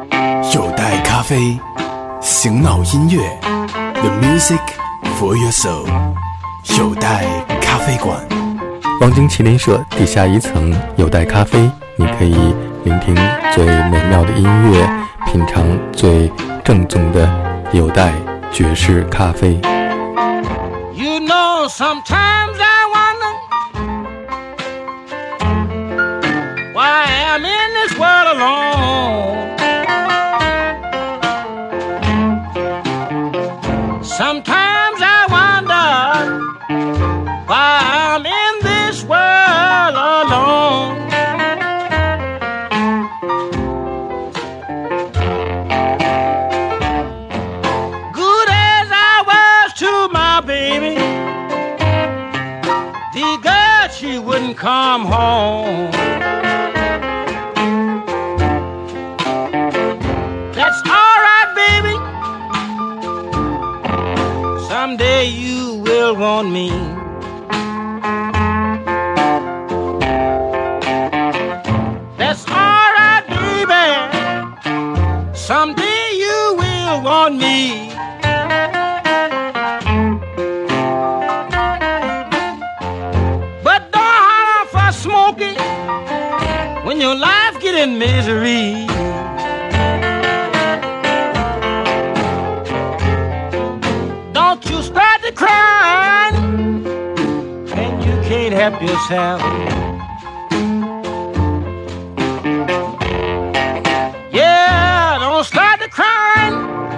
有待咖啡，醒脑音乐 The music for your soul。 有待咖啡馆。 望京麒麟社地下1层有待咖啡，你可以聆听最美妙的音乐，品尝最正宗的有待爵士咖啡。 You know, sometimes I wonder why I'm in this world alone. Sometimes I wonder why I'm in this world alone. Good as I was to my baby, the girl, she wouldn't come home. That's all right, baby. Someday you will want me. That's all right, baby. Someday you will want me. But don't holler for Smokey when your life get in misery. Don't you start to cry and you can't help yourself. Yeah, don't start to cry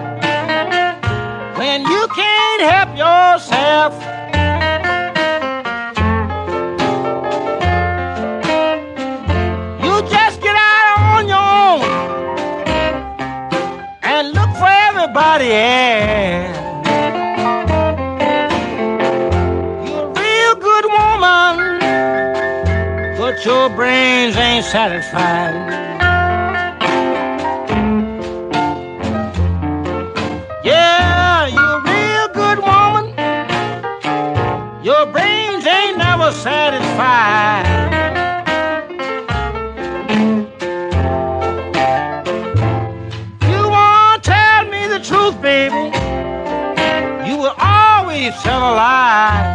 when you can't help yourself. You just get out on your own and look for everybody else. You're a real good woman, but your brains ain't satisfied. Yeah, you're a real good woman, your brains ain't never satisfied. You won't tell me the truth, baby, you will always tell a lie.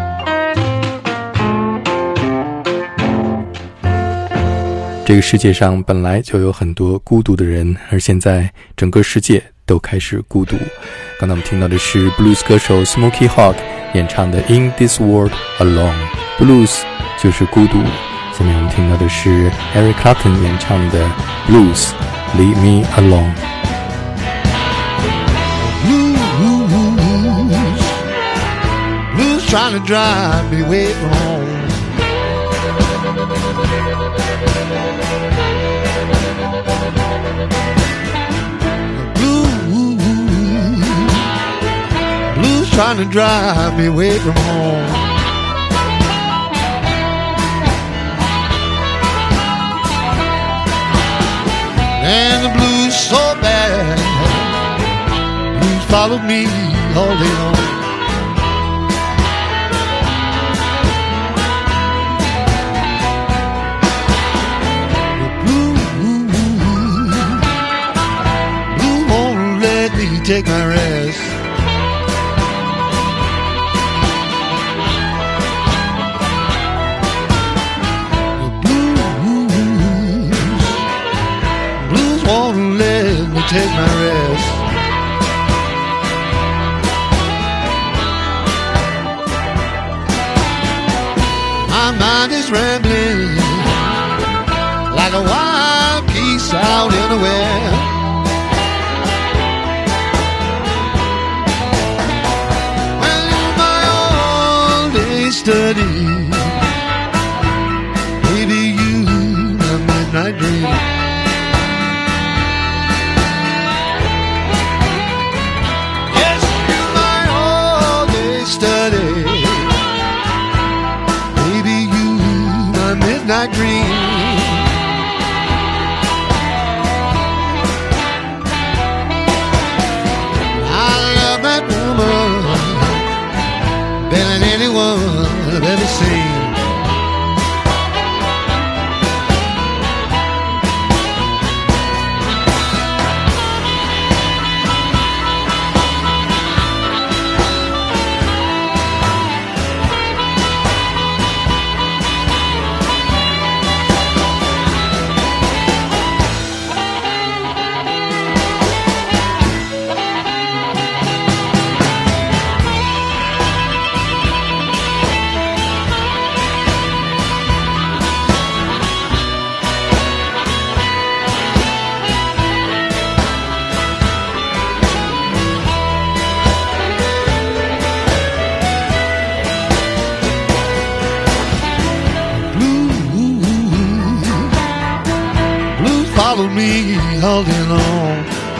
这个世界上本来就有很多孤独的人，而现在整个世界都开始孤独。刚才我们听到的是 blues 歌手 Smokey Hawk 演唱的 In This World Alone。 Blues 就是孤独。下面我们听到的是 Eric Clapton 演唱的 Blues Leave Me Alone。 Blues trying to drive me away from home. Blues trying to drive me away from home. And the blues so bad, blues followed me all day long. Take my rest. The blues won't let me take my rest. My mind is rambling like a wild geese out anywhere. Study, baby, you my midnight dream. Yes, you my all-day study, baby, you my midnight dream. I love that woman better than anyone I've ever seen. all day long.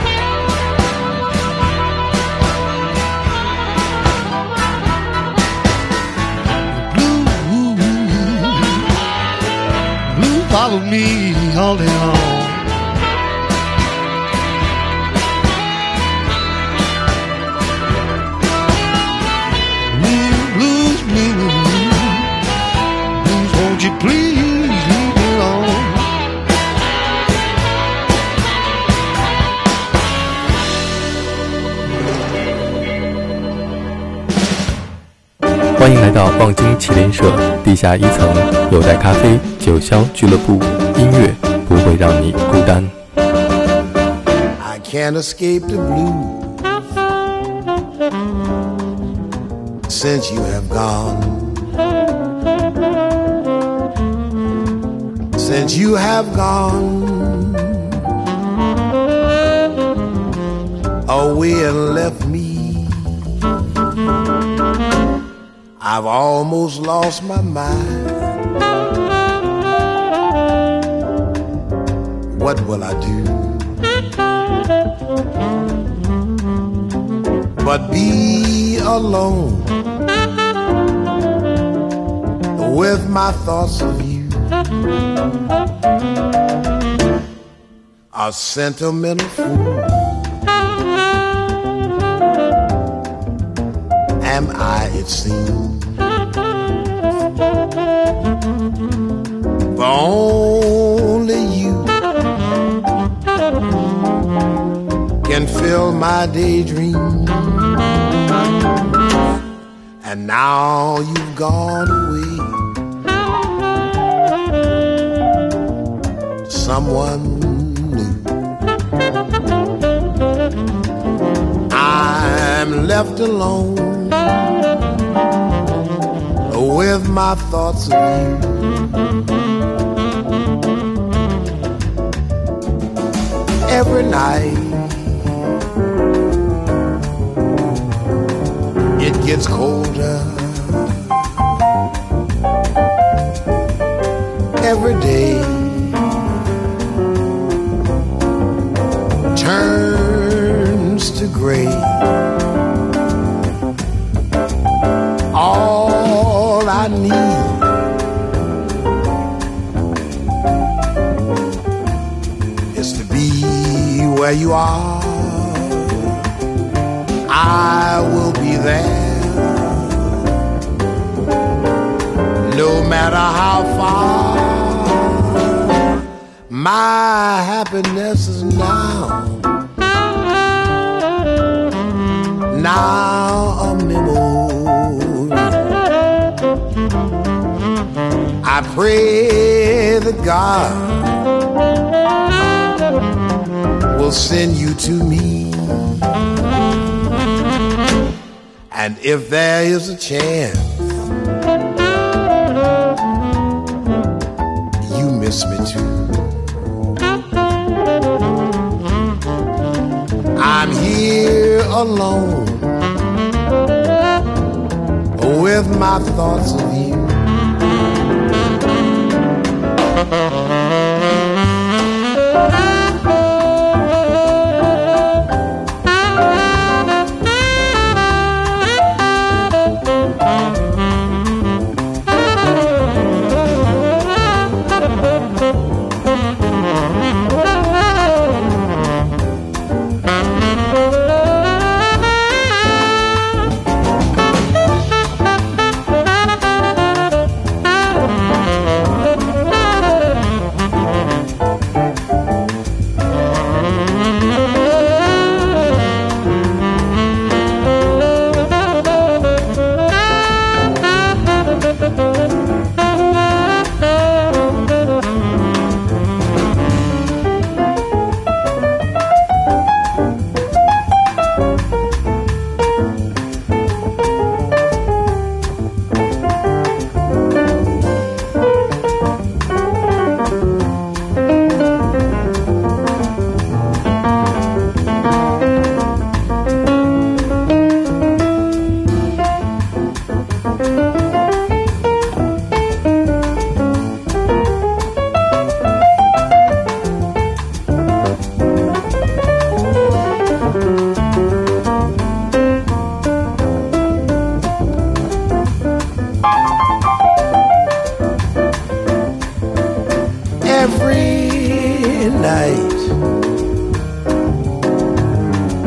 Blue follow me all day long. Won't you please leave me alone? 欢迎来到望京麒麟社地下1层有带咖啡九霄俱乐部，音乐不会让你孤单。 I can't escape the blues since you have gone. Since you have gone away and left me, I've almost lost my mind. What will I do but be alone with my thoughts of you? A sentimental fool am I, it seems. For only you can fill my daydream. And now you've gone away, someone new. I'm left alone with my thoughts of you. Every night it gets colder. Every day turns to gray. All I need is to be where you are. I will be there, no matter how far. My happiness is now a memory. I pray that God will send you to me. And if there is a chance you miss me too, I'm here alone with my thoughts of you.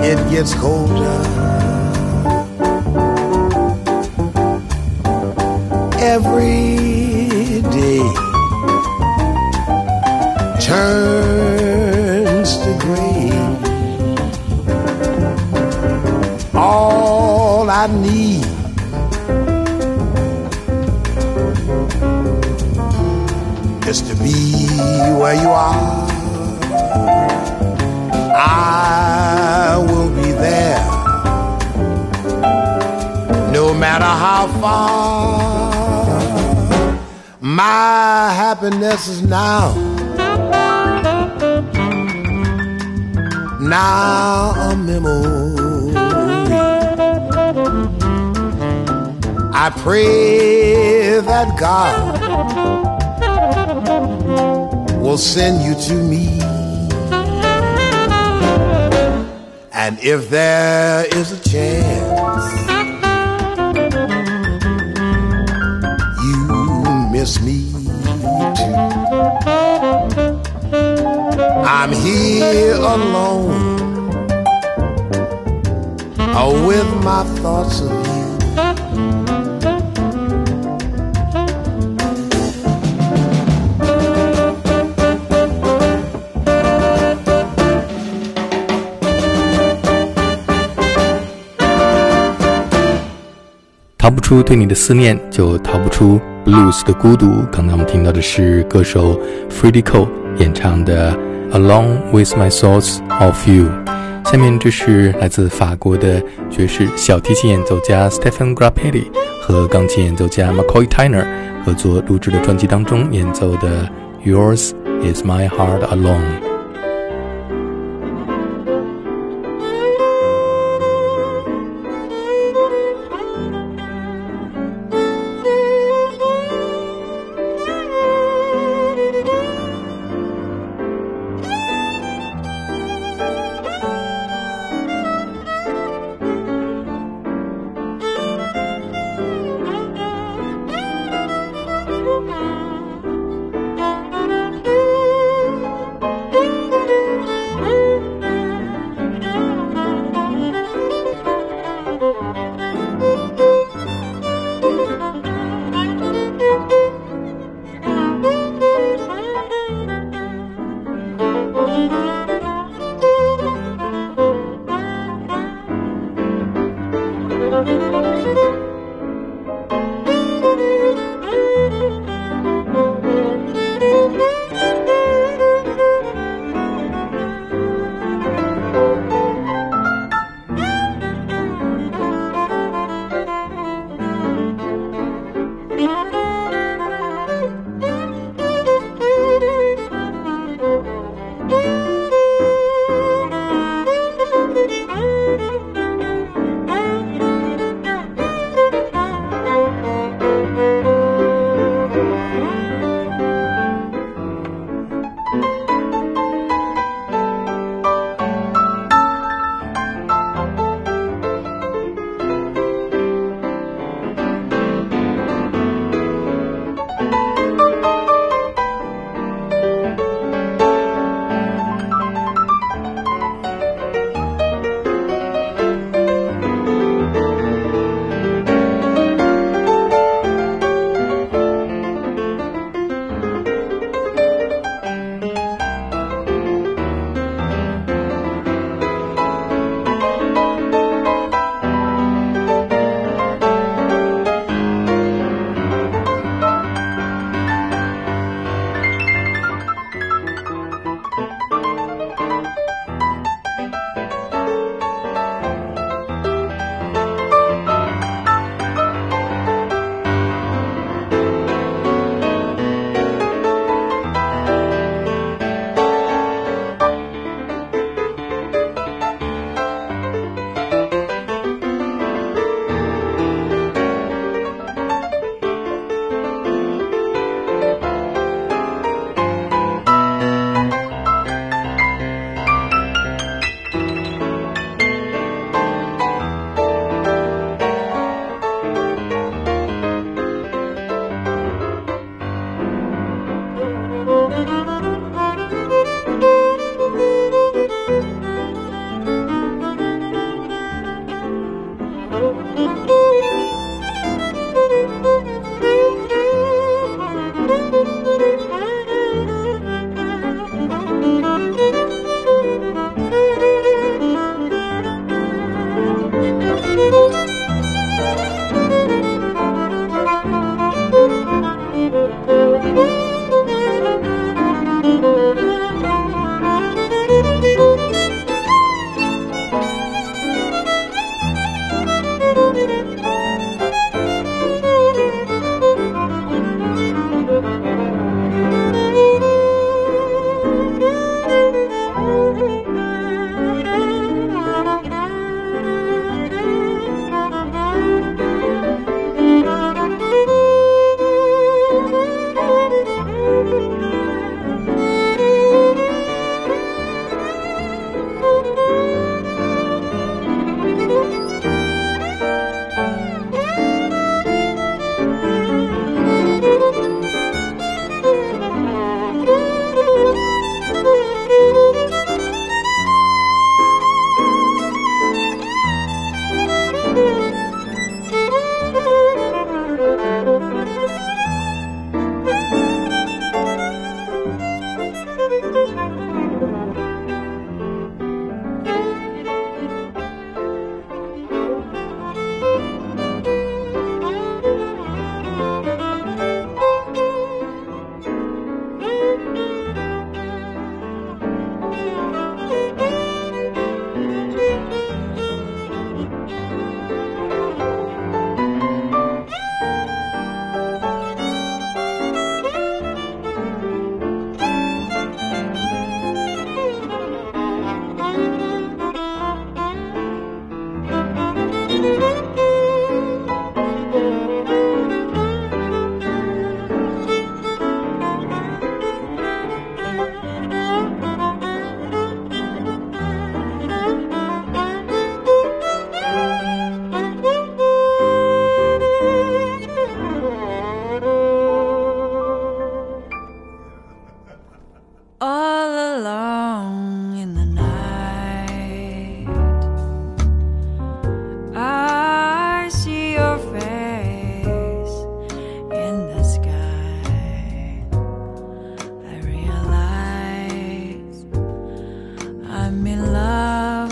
it gets colder. Every day turns to gray. All I need is to be where you are. I will be there, no matter how far. My happiness is now a memory. I pray that God will send you to me. And if there is a chance you miss me too, I'm here alone, with my thoughts of you. 逃不出对你的思念，就逃不出 blues 的孤独。刚才我们听到的是歌手 Freddie Cole 演唱的 Along with my thoughts of you。 下面这是来自法国的爵士小提琴演奏家 Stephen Grappelli 和钢琴演奏家 McCoy Tyner 合作录制的专辑当中演奏的 Yours is my heart alone。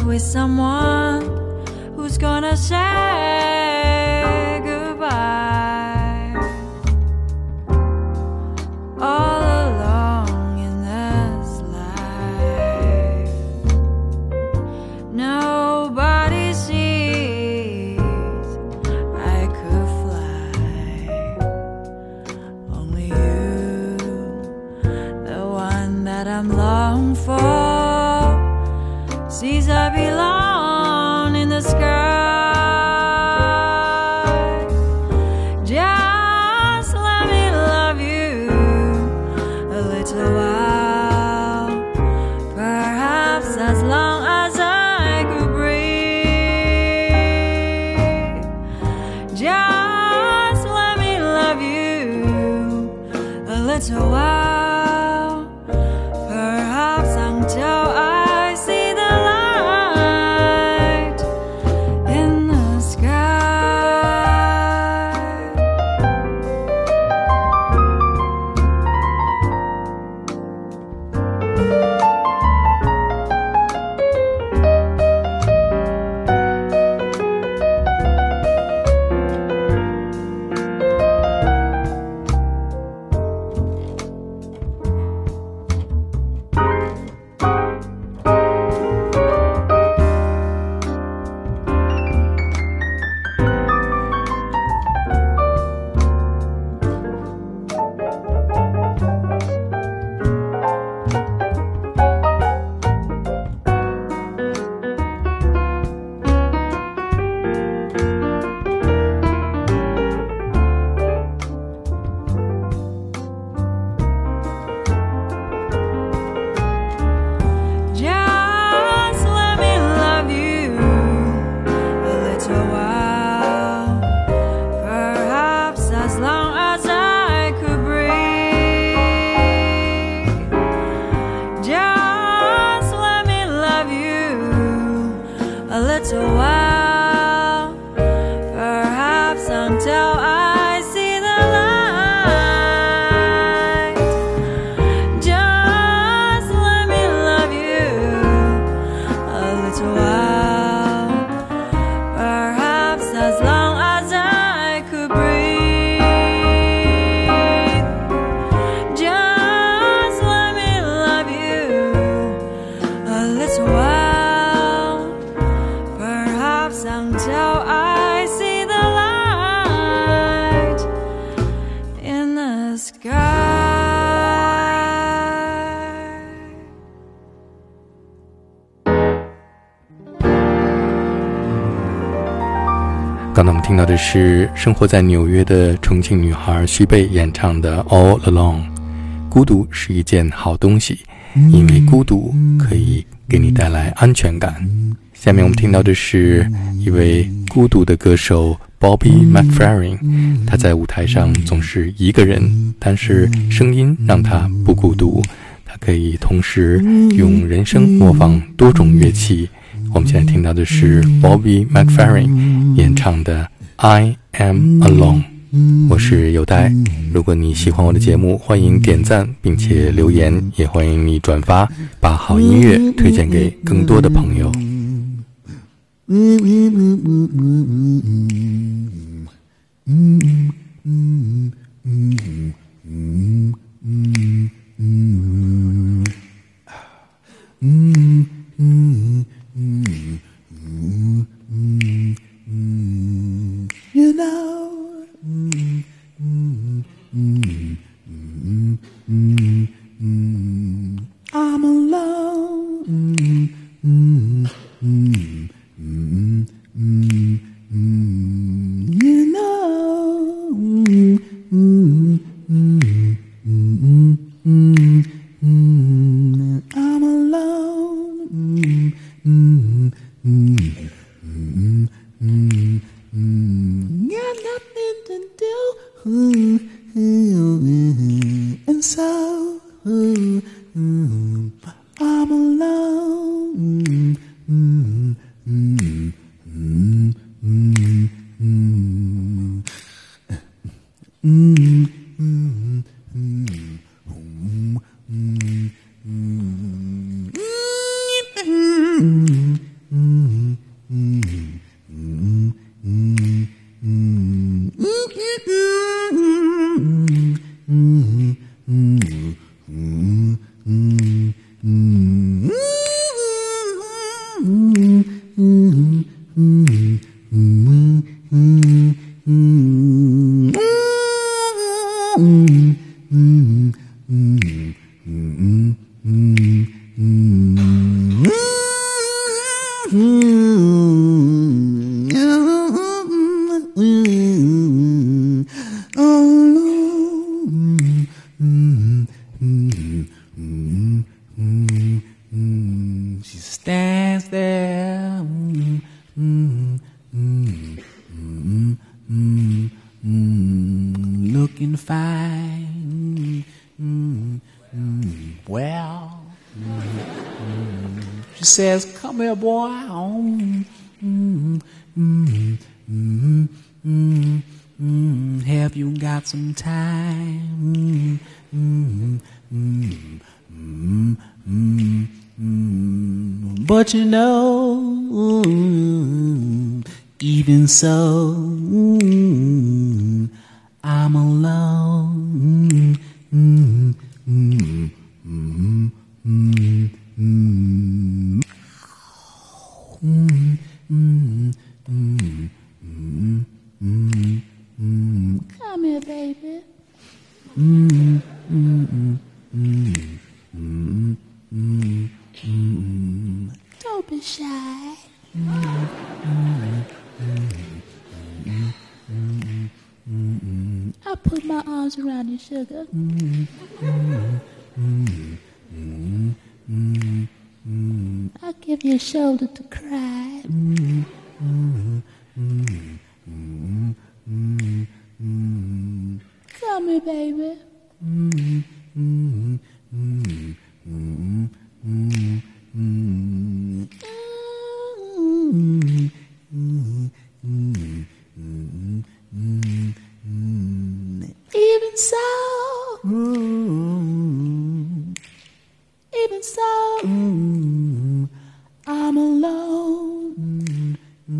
with someone who's gonna say goodbye. All along in this life, nobody sees I could fly. Only you, the one that I'm longing for, sees I belong in the sky. Just let me love you a little while, perhaps as long as I could breathe. Just let me love you a little while, perhaps until I see the light in the sky. Just let me love you a little while, perhaps as long as I could breathe. Just let me love you a little while, perhaps until I see the light. Just let me love you a little while, perhaps as long as I could breathe. Just let me love you a little while, perhaps until I see the light in the sky. 刚才我们听到的是生活在纽约的重庆女孩徐蓓演唱的 All Alone。 孤独是一件好东西，因为孤独可以给你带来安全感。下面我们听到的是一位孤独的歌手 Bobby McFerrin， 他在舞台上总是一个人，但是声音让他不孤独，他可以同时用人声模仿多种乐器。我们现在听到的是 Bobby McFerrin 演唱的 I Am Alone。 我是有代，如果你喜欢我的节目，欢迎点赞并且留言，也欢迎你转发，把好音乐推荐给更多的朋友。 You know, I'm alone. You know, I'm alone. Got nothing to do, and so I'm alone. She stands there, looking fine. Well, she says, "Come here, boy. Have you got some time? But you know, even so, I'm alone. Come here, baby. Don't be shy. I'll put my arms around you, sugar. I'll give you a shoulder to cry. Come here, baby. Even so, I'm alone.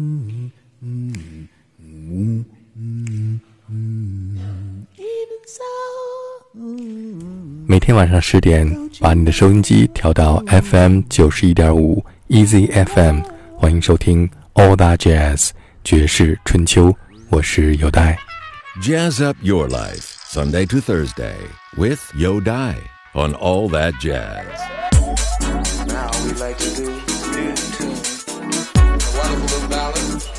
Even so. 每天晚上10点，把你的收音机调到 FM 91.5 Easy FM， 欢迎收听 All That Jazz 爵士春秋，我是有代。 Jazz up your life, Sunday to Thursday, with Yo Dai on All That Jazz. Now we like to do a wonderful little ballad